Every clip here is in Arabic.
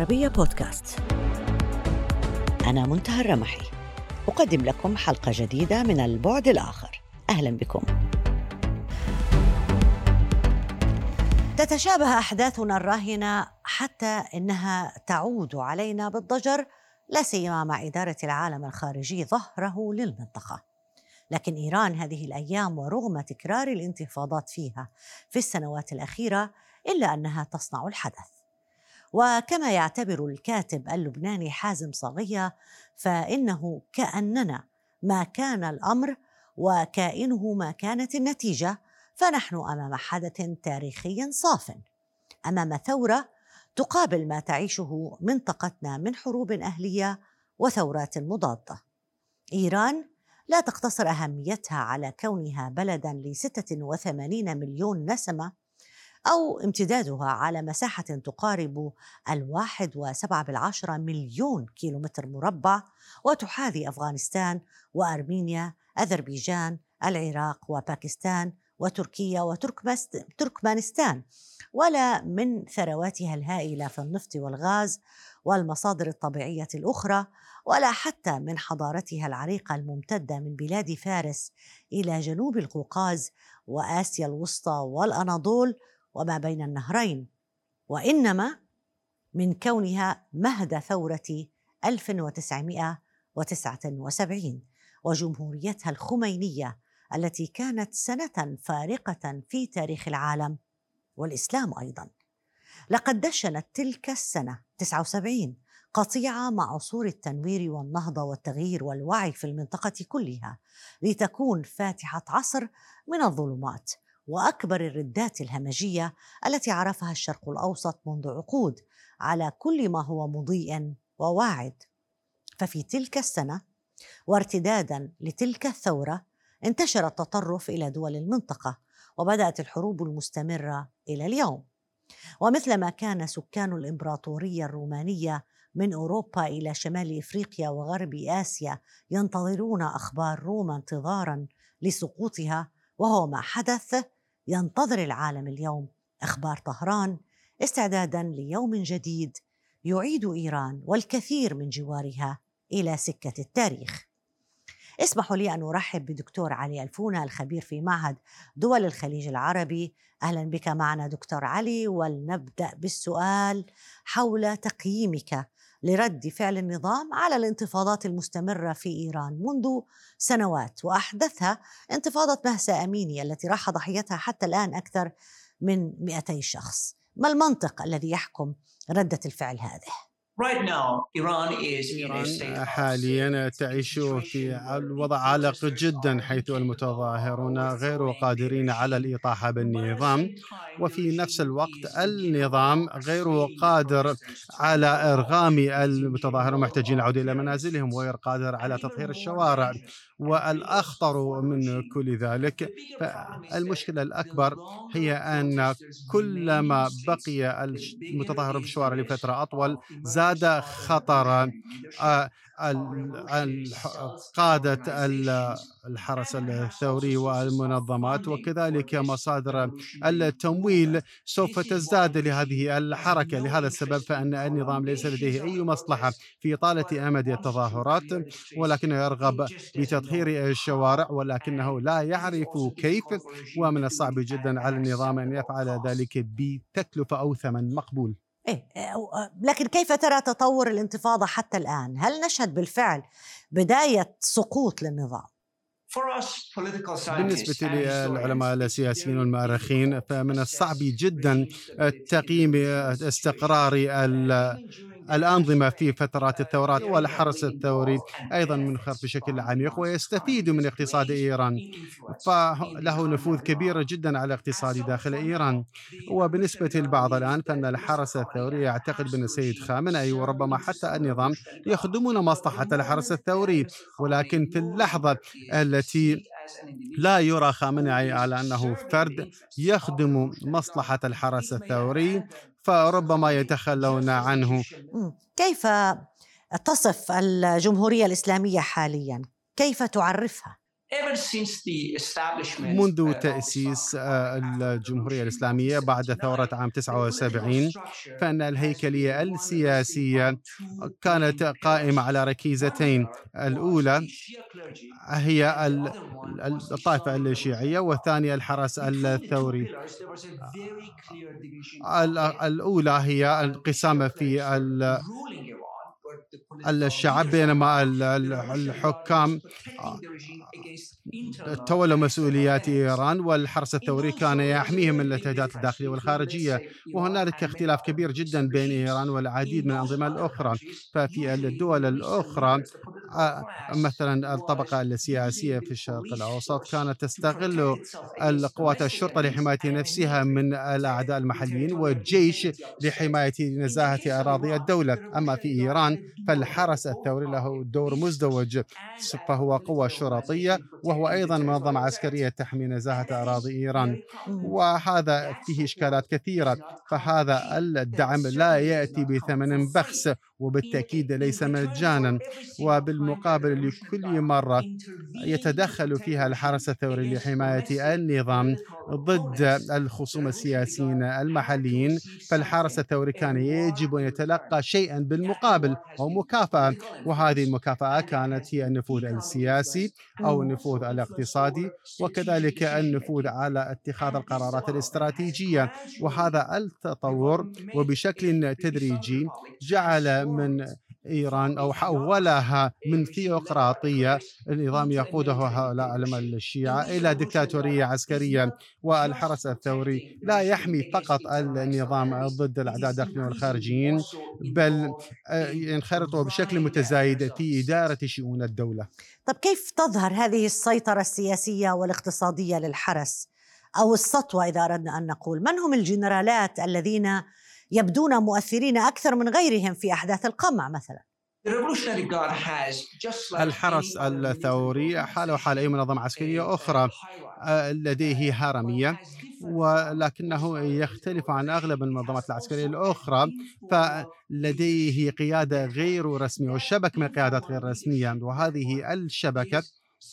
العربية بودكاست. أنا منتهى الرمحي، أقدم لكم حلقة جديدة من البعد الآخر. أهلا بكم. تتشابه أحداثنا الراهنة حتى إنها تعود علينا بالضجر، لا سيما مع إدارة العالم الخارجي ظهره للمنطقة. لكن إيران هذه الأيام ورغم تكرار الانتفاضات فيها في السنوات الأخيرة إلا أنها تصنع الحدث. وكما يعتبر الكاتب اللبناني حازم صاغية، فإنه كأننا ما كان الأمر وكائنه ما كانت النتيجة، فنحن أمام حدث تاريخي صاف، أمام ثورة تقابل ما تعيشه منطقتنا من حروب أهلية وثورات مضادة. إيران لا تقتصر أهميتها على كونها بلداً ل86 مليون نسمة أو امتدادها على مساحة تقارب 1.7 مليون كيلومتر مربع، وتحاذي أفغانستان وأرمينيا، أذربيجان، العراق وباكستان وتركيا وتركمانستان، ولا من ثرواتها الهائلة في النفط والغاز والمصادر الطبيعية الأخرى، ولا حتى من حضارتها العريقة الممتدة من بلاد فارس إلى جنوب القوقاز وآسيا الوسطى والأناضول وما بين النهرين، وإنما من كونها مهد ثورة 1979 وجمهوريتها الخمينية التي كانت سنة فارقة في تاريخ العالم والإسلام أيضا. لقد دشنت تلك السنة 79 قطيعة مع عصور التنوير والنهضة والتغيير والوعي في المنطقة كلها، لتكون فاتحة عصر من الظلمات وأكبر الردات الهمجية التي عرفها الشرق الأوسط منذ عقود على كل ما هو مضيء وواعد. ففي تلك السنة وارتدادا لتلك الثورة انتشر التطرف إلى دول المنطقة، وبدأت الحروب المستمرة إلى اليوم. ومثلما كان سكان الإمبراطورية الرومانية من أوروبا إلى شمال إفريقيا وغرب آسيا ينتظرون أخبار روما انتظارا لسقوطها، وهو ما حدث، ينتظر العالم اليوم أخبار طهران استعدادا ليوم جديد يعيد إيران والكثير من جوارها إلى سكة التاريخ. اسمحوا لي أن أرحب بدكتور علي الفونة، الخبير في معهد دول الخليج العربي. أهلا بك معنا دكتور علي، ولنبدأ بالسؤال حول تقييمك لرد فعل النظام على الانتفاضات المستمرة في إيران منذ سنوات، وأحدثها انتفاضة مهسا أميني التي راح ضحيتها حتى الآن أكثر من 200 شخص. ما المنطق الذي يحكم ردة الفعل هذه؟ إيران حاليا تعيش في الوضع عالق جدا، حيث المتظاهرون غير قادرين على الإطاحة بالنظام، وفي نفس الوقت النظام غير قادر على إرغام المتظاهرين محتاجين العودة إلى منازلهم، وغير قادر على تطهير الشوارع. والأخطر من كل ذلك، فالمشكلة الأكبر هي أن كلما بقي المتظاهرون في الشوارع لفترة أطول زاد خطر قادة الحرس الثوري والمنظمات، وكذلك مصادر التمويل سوف تزداد لهذه الحركة. لهذا السبب فإن النظام ليس لديه أي مصلحة في إطالة أمد التظاهرات، ولكنه يرغب بتطهير الشوارع، ولكنه لا يعرف كيف، ومن الصعب جدا على النظام أن يفعل ذلك بتكلفة أو ثمن مقبول. لكن كيف ترى تطور الانتفاضة حتى الآن؟ هل نشهد بالفعل بداية سقوط للنظام؟ بالنسبة للعلماء السياسيين والمؤرخين، فمن الصعب جدا تقييم استقرار الأنظمة في فترات الثورات، والحرس الثوري أيضا منخرط بشكل عميق ويستفيد من اقتصاد إيران، فله نفوذ كبير جدا على الاقتصاد داخل إيران. وبالنسبة للبعض الآن فإن الحرس الثوري يعتقد بأن السيد خامنئي وربما حتى النظام يخدمون مصلحة الحرس الثوري، ولكن في اللحظة التي لا يرى خامنئي على أنه فرد يخدم مصلحة الحرس الثوري فربما يتخلون عنه. كيف تصف الجمهورية الإسلامية حاليا؟ كيف تعرفها؟ منذ تأسيس الجمهورية الإسلامية بعد ثورة عام 79، فإن الهيكلية السياسية كانت قائمة على ركيزتين. الأولى هي الطائفة الشيعية، والثانية الحرس الثوري. الأولى هي انقسام في الشعب، بينما الحكام تولوا مسؤوليات إيران، والحرس الثوري كان يحميهم من التهديدات الداخلية والخارجية. وهنالك اختلاف كبير جدا بين إيران والعديد من الأنظمة الأخرى. ففي الدول الأخرى مثلا الطبقة السياسية في الشرق الأوسط كانت تستغل القوات الشرطة لحماية نفسها من الأعداء المحليين، والجيش لحماية نزاهة أراضي الدولة. أما في إيران فالحرس الثوري له دور مزدوج، فهو قوة شرطية وهو أيضا منظمة عسكرية تحمي نزاهة أراضي إيران. مم. وهذا فيه إشكالات كثيرة. فهذا الدعم لا يأتي بثمن بخس، وبالتأكيد ليس مجانا. وبالمقابل لكل مرة يتدخل فيها الحرس الثوري لحماية النظام ضد الخصوم السياسيين المحليين، فالحرس الثوري كان يجب أن يتلقى شيئا بالمقابل أو مكافأة، وهذه المكافأة كانت هي النفوذ السياسي أو مم. النفوذ الاقتصادي، وكذلك النفوذ على اتخاذ القرارات الاستراتيجية. وهذا التطور وبشكل تدريجي جعل من إيران أو حولها من ثيوقراطية، النظام يقوده هؤلاء علماء الشيعة، إلى دكتاتورية عسكرية. والحرس الثوري لا يحمي فقط النظام ضد الأعداء الداخليين والخارجيين، بل ينخرط بشكل متزايد في إدارة شؤون الدولة. طب كيف تظهر هذه السيطرة السياسية والاقتصادية للحرس أو السطوة إذا أردنا أن نقول؟ من هم الجنرالات الذين يبدون مؤثرين أكثر من غيرهم في أحداث القمع مثلا؟ الحرس الثوري حاله حال أي منظمة عسكرية أخرى، لديه هرمية، ولكنه يختلف عن أغلب المنظمات العسكرية الأخرى. فلديه قيادة غير رسمية وشبكة من قيادات غير رسمية، وهذه الشبكة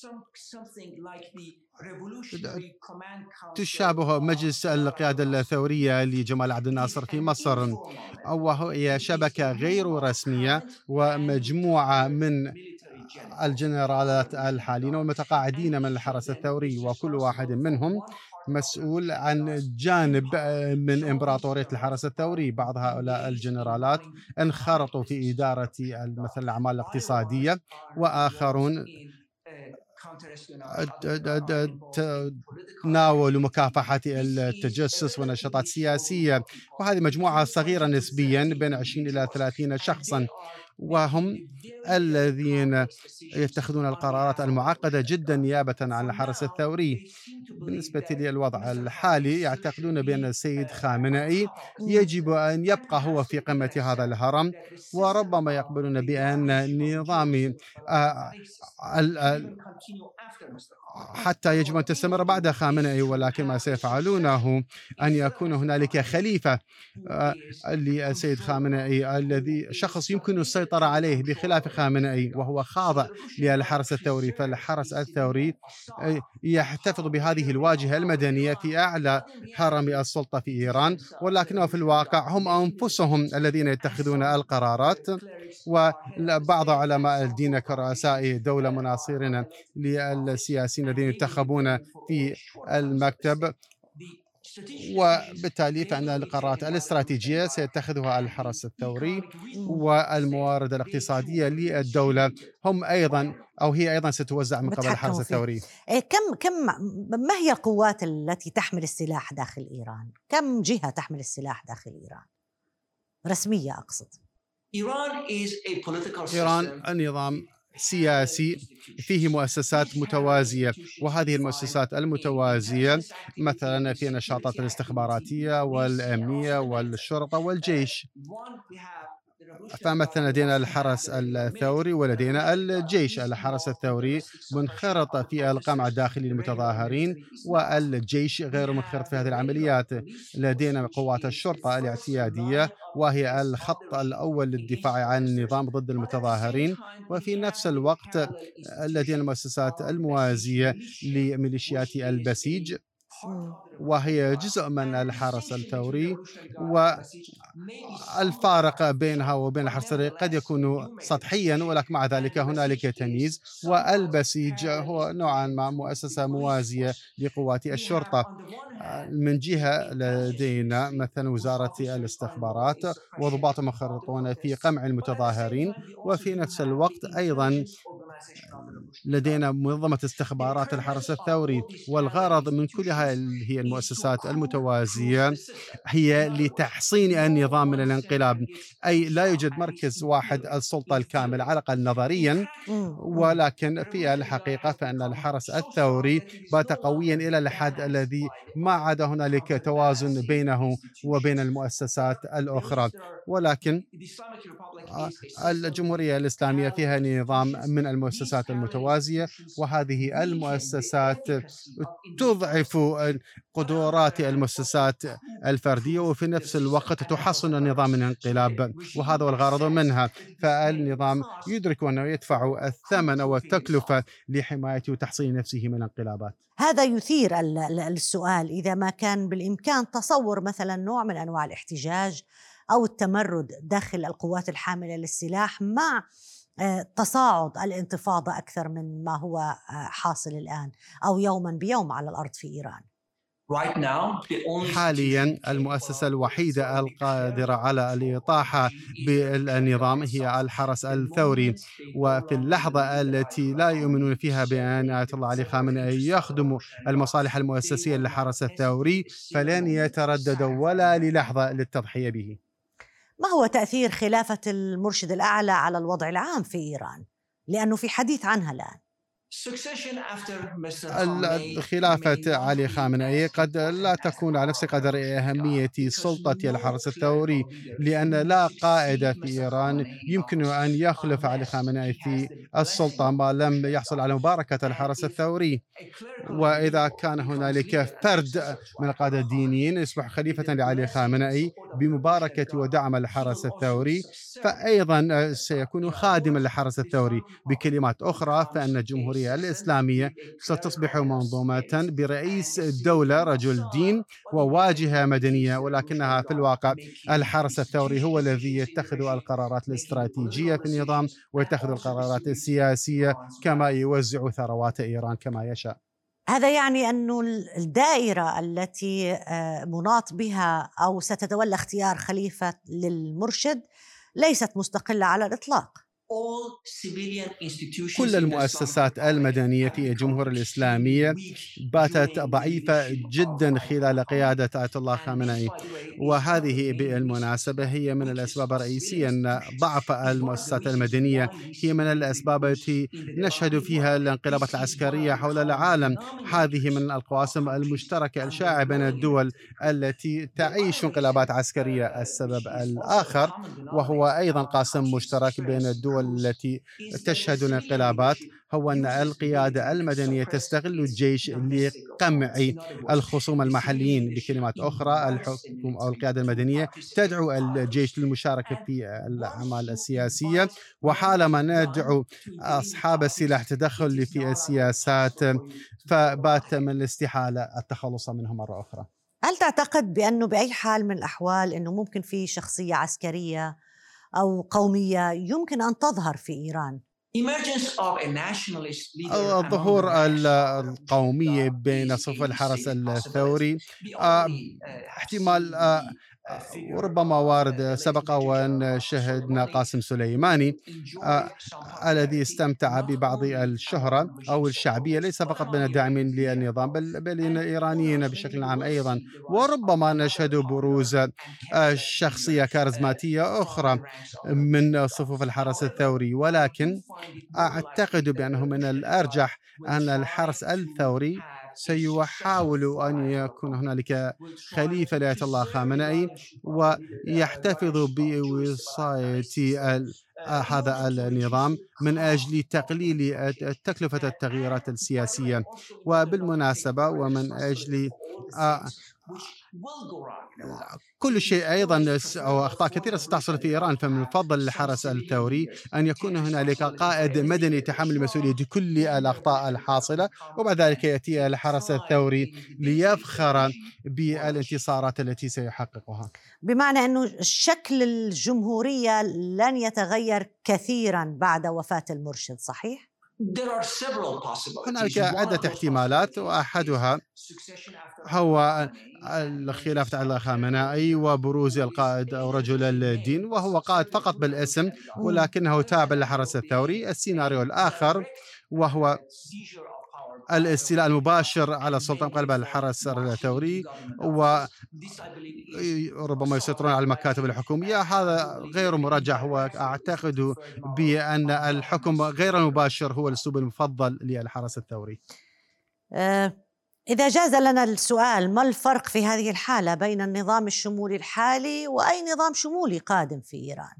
تشابه مجلس القيادة الثورية لجمال عبد الناصر في مصر، وهي شبكة غير رسمية ومجموعة من الجنرالات الحاليين والمتقاعدين من الحرس الثوري، وكل واحد منهم مسؤول عن جانب من إمبراطورية الحرس الثوري. بعض هؤلاء الجنرالات انخرطوا في إدارة مثل الأعمال الاقتصادية، وآخرون تناولوا مكافحة التجسس ونشاطات سياسية. وهذه مجموعة صغيرة نسبيا بين 20 إلى 30 شخصا، وهم الذين يتخذون القرارات المعقدة جدا نيابة عن الحرس الثوري. بالنسبة للوضع الحالي يعتقدون بأن السيد خامنئي يجب أن يبقى هو في قمة هذا الهرم، وربما يقبلون بأن نظام حتى يجب أن تستمر بعد خامنئي، ولكن ما سيفعلونه أن يكون هنالك خليفة للسيد خامنئي، الذي شخص يمكن السيطرة عليه بخلاف خامنئي، وهو خاضع للحرس الثوري. فالحرس الثوري يحتفظ بهذه الواجهة المدنية في أعلى هرم السلطة في إيران، ولكنه في الواقع هم أنفسهم الذين يتخذون القرارات. وبعض علماء الدين كرؤساء دولة مناصرين للسياسيين الذين ينتخبون في المكتب، وبالتالي فإن القرارات الاستراتيجية سيتخذها الحرس الثوري، والموارد الاقتصادية للدولة هم أيضا أو هي أيضا ستوزع من قبل الحرس الثوري. ما هي القوات التي تحمل السلاح داخل إيران؟ كم جهة تحمل السلاح داخل إيران رسمية أقصد؟ إيران النظام سياسي فيه مؤسسات متوازية، وهذه المؤسسات المتوازية مثلا في النشاطات الاستخباراتية والأمنية والشرطة والجيش. فمثلا لدينا الحرس الثوري ولدينا الجيش. الحرس الثوري منخرط في القمع الداخلي للمتظاهرين، والجيش غير منخرط في هذه العمليات. لدينا قوات الشرطة الاعتيادية، وهي الخط الأول للدفاع عن النظام ضد المتظاهرين. وفي نفس الوقت لدينا المؤسسات الموازية لميليشيات البسيج، مم. وهي جزء من الحرس الثوري. والفارق بينها وبين الحرس الثوري قد يكون سطحيا، ولكن مع ذلك هنالك تمييز. والبسيج هو نوعا ما مؤسسة موازية لقوات الشرطة. من جهة لدينا مثلا وزارة الاستخبارات وضباط مخرطون في قمع المتظاهرين، وفي نفس الوقت أيضا لدينا منظمة استخبارات الحرس الثوري. والغرض من كل هي المؤسسات المتوازية هي لتحصين النظام من الانقلاب. أي لا يوجد مركز واحد السلطة الكاملة على الأقل نظريا، ولكن في الحقيقة فإن الحرس الثوري بات قويا إلى الحد الذي ما عاد هنالك توازن بينه وبين المؤسسات الأخرى. ولكن الجمهورية الإسلامية فيها نظام من المؤسسات المتوازية، وهذه المؤسسات تضعف قدرات المؤسسات الفردية، وفي نفس الوقت تحصن النظام من الانقلاب، وهذا هو الغرض منها. فالنظام يدرك أنه يدفع الثمن والتكلفة لحمايته وتحصين نفسه من الانقلابات. هذا يثير السؤال، إذا ما كان بالإمكان تصور مثلا نوع من أنواع الاحتجاج أو التمرد داخل القوات الحاملة للسلاح مع تصاعد الانتفاضة أكثر من ما هو حاصل الآن أو يوما بيوم على الأرض في إيران. حاليا المؤسسة الوحيدة القادرة على الإطاحة بالنظام هي الحرس الثوري. وفي اللحظة التي لا يؤمنون فيها بأن آية الله علي خامنئي يخدم المصالح المؤسسية للحرس الثوري فلن يترددوا ولا للحظة للتضحية به. ما هو تأثير خلافة المرشد الأعلى على الوضع العام في إيران؟ لأنه في حديث عنها الآن. خلافة علي خامنئي قد لا تكون على نفس قدر أهمية سلطة الحرس الثوري، لأن لا قائد في إيران يمكن أن يخلف علي خامنئي في السلطة ما لم يحصل على مباركة الحرس الثوري. وإذا كان هنالك فرد من القادة الدينيين يصبح خليفة لعلي خامنئي بمباركة ودعم الحرس الثوري، فأيضا سيكون خادما للحرس الثوري. بكلمات أخرى فإن الجمهورية الإسلامية ستصبح منظومة برئيس الدولة رجل دين وواجهة مدنية، ولكنها في الواقع الحرس الثوري هو الذي يتخذ القرارات الاستراتيجية في النظام ويتخذ القرارات السياسية، كما يوزع ثروات إيران كما يشاء. هذا يعني أن الدائرة التي مناط بها أو ستتولى اختيار خليفة للمرشد ليست مستقلة على الإطلاق. كل المؤسسات المدنية في الجمهورية الإسلامية باتت ضعيفة جدا خلال قيادة آية الله خامنئي، وهذه بالمناسبة هي من الأسباب الرئيسية أن ضعف المؤسسات المدنية هي من الأسباب التي نشهد فيها الانقلابات العسكرية حول العالم. هذه من القواسم المشتركة الشائعة بين الدول التي تعيش انقلابات عسكرية. السبب الآخر وهو أيضا قاسم مشترك بين الدول التي تشهد الانقلابات هو أن القيادة المدنية تستغل الجيش لقمع الخصوم المحليين. بكلمات أخرى الحكم أو القيادة المدنية تدعو الجيش للمشاركة في الأعمال السياسية، وحالما ندعو أصحاب السلاح تدخل في السياسات فبات من الاستحالة التخلص منها مرة أخرى. هل تعتقد بأنه بأي حال من الأحوال أنه ممكن في شخصية عسكرية أو قومية يمكن أن تظهر في إيران؟ ظهور القومية بين صف الحرس الثوري احتمال وربما وارد. سبق وأن شهدنا قاسم سليماني الذي استمتع ببعض الشهرة أو الشعبية ليس فقط بين الداعمين للنظام بل بين الإيرانيين بشكل عام أيضا. وربما نشهد بروز شخصية كاريزماتية أخرى من صفوف الحرس الثوري، ولكن أعتقد بأنه من الأرجح أن الحرس الثوري سيحاول أن يكون هنالك خليفة لآية الله خامنئي ويحتفظ بوصاية هذا النظام من أجل تقليل تكلفة التغييرات السياسية. وبالمناسبة ومن أجل كل شيء أيضا أو أخطاء كثيرة ستحصل في إيران، فمن الفضل للحرس الثوري أن يكون هنالك قائد مدني يتحمل مسؤولية كل الأخطاء الحاصلة، وبعد ذلك يأتي الحرس الثوري ليفخر بالانتصارات التي سيحققها. بمعنى أنه شكل الجمهورية لن يتغير كثيرا بعد وفاة المرشد، صحيح؟ هنالك عدة احتمالات، وأحدها هو الخلافة على خامنئي وبروز القائد أو رجل الدين، وهو قائد فقط بالاسم ولكنه تابع للحرس الثوري. السيناريو الآخر وهو الاستيلاء المباشر على السلطة من قبل الحرس الثوري، وربما يسيطرون على المكاتب الحكومية. هذا غير مرجح، وأعتقد بأن الحكم غير المباشر هو الأسلوب المفضل للحرس الثوري. إذا جاز لنا السؤال، ما الفرق في هذه الحالة بين النظام الشمولي الحالي وأي نظام شمولي قادم في إيران؟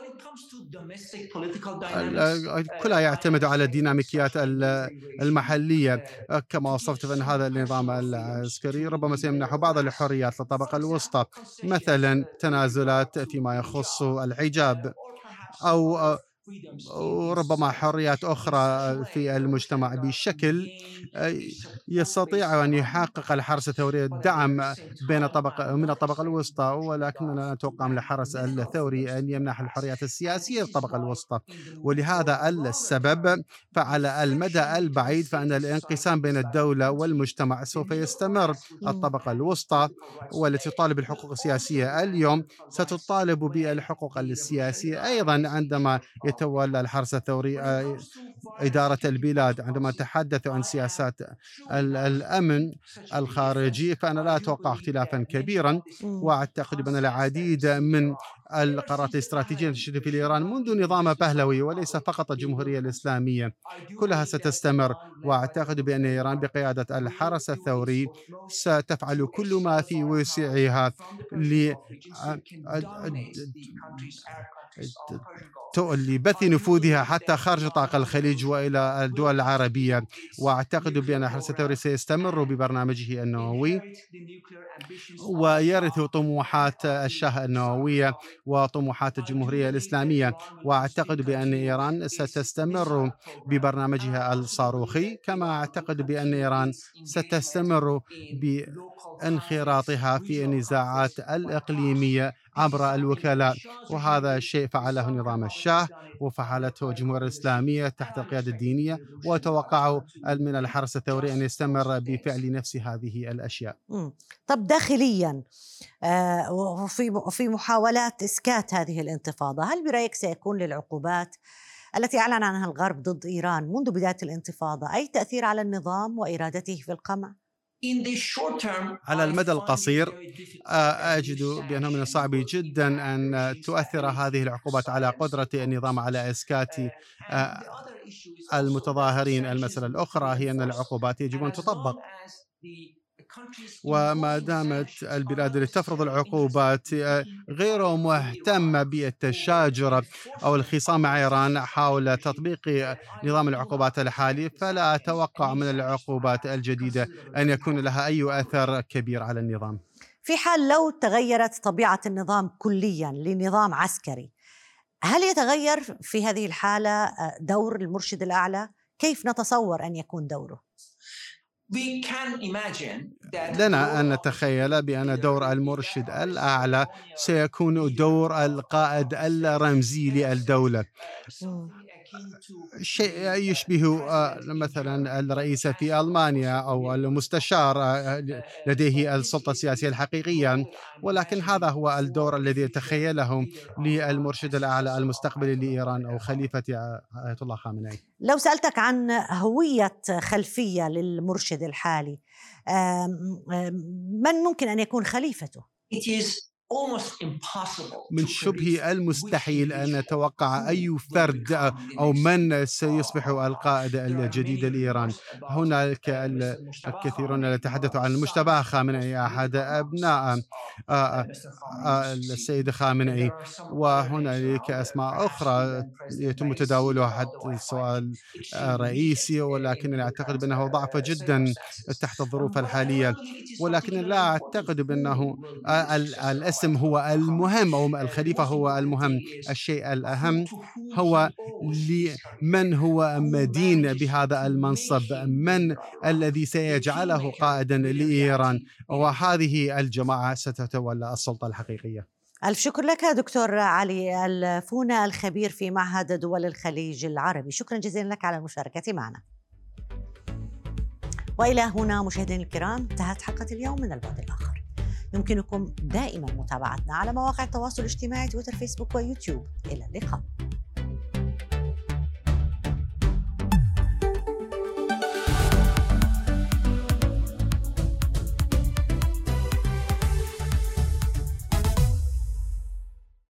كلها يعتمد على الديناميكيات المحلية. كما وصفت بأن هذا النظام العسكري ربما سيمنح بعض الحريات للطبقة الوسطى، مثلا تنازلات فيما يخص الحجاب، أو وربما حريات أخرى في المجتمع بشكل يستطيع أن يحقق الحرس الثوري الدعم من الطبقة الوسطى. ولكننا نتوقع من الحرس الثوري أن يمنح الحريات السياسية للطبقة الوسطى، ولهذا السبب فعلى المدى البعيد فإن الانقسام بين الدولة والمجتمع سوف يستمر. الطبقة الوسطى والتي تطالب بالحقوق السياسية اليوم ستطالب بالحقوق السياسية أيضا عندما يتولى الحرس الثوري إدارة البلاد. عندما تحدث عن سياسات الأمن الخارجي فأنا لا أتوقع اختلافا كبيرا، وأعتقد بأن العديد من القرارات الاستراتيجية التي في إيران منذ نظام بهلوي وليس فقط الجمهورية الإسلامية كلها ستستمر. وأعتقد بأن إيران بقيادة الحرس الثوري ستفعل كل ما في وسعها لبث نفوذها حتى خارج نطاق الخليج وإلى الدول العربية. وأعتقد بأن الحرس الثوري سيستمر ببرنامجه النووي ويرث طموحات الشاه النووية وطموحات الجمهورية الإسلامية. وأعتقد بأن إيران ستستمر ببرنامجها الصاروخي، كما أعتقد بأن إيران ستستمر بانخراطها في النزاعات الإقليمية عبر الوكلاء، وهذا الشيء فعله نظام الشاه وفعلته الجمهورية الإسلامية تحت القيادة الدينية، وتوقعوا من الحرس الثوري أن يستمر بفعل نفس هذه الأشياء. طب داخليا وفي محاولات إسكات هذه الانتفاضة، هل برأيك سيكون للعقوبات التي أعلن عنها الغرب ضد إيران منذ بداية الانتفاضة أي تأثير على النظام وإرادته في القمع؟ على المدى القصير أجد بأنه من الصعب جدا أن تؤثر هذه العقوبات على قدرة النظام على إسكات المتظاهرين. المسألة الأخرى هي أن العقوبات يجب أن تطبق، وما دامت البلاد التي تفرض العقوبات غير مهتمة بالتشاجر أو الخصام مع إيران حول تطبيق نظام العقوبات الحالي، فلا أتوقع من العقوبات الجديدة أن يكون لها أي أثر كبير على النظام. في حال لو تغيرت طبيعة النظام كليا لنظام عسكري، هل يتغير في هذه الحالة دور المرشد الأعلى؟ كيف نتصور أن يكون دوره؟ لنا أن نتخيل بأن دور المرشد الأعلى سيكون دور القائد الرمزي للدولة، شيء يشبه مثلا الرئيس في ألمانيا أو المستشار لديه السلطة السياسية الحقيقية. ولكن هذا هو الدور الذي يتخيله للمرشد الأعلى المستقبلي لإيران أو خليفة آية الله خامنئي. لو سألتك عن هوية خلفية للمرشد الحالي، من ممكن أن يكون خليفته؟ من شبه المستحيل أن نتوقع أي فرد أو من سيصبح القائد الجديد لإيران. هناك الكثيرون يتحدثوا عن المجتبى خامنئي أحد أبناء السيد خامنئي، وهنالك أسماء أخرى يتم تداولها حتى السؤال رئيسي، ولكن أعتقد بأنه ضعف جدا تحت الظروف الحالية. ولكن لا أعتقد بأنه الاسم هو المهم أو الخليفة هو المهم. الشيء الأهم هو من هو مدين بهذا المنصب، من الذي سيجعله قائدا لإيران، وهذه الجماعة ستتولى السلطة الحقيقية. ألف شكر لك دكتور علي الفونة، الخبير في معهد دول الخليج العربي. شكرا جزيلا لك على المشاركة معنا. وإلى هنا مشاهدينا الكرام انتهت حلقة اليوم من البعد الآخر. يمكنكم دائما متابعتنا على مواقع التواصل الاجتماعي تويتر، فيسبوك ويوتيوب. إلى اللقاء.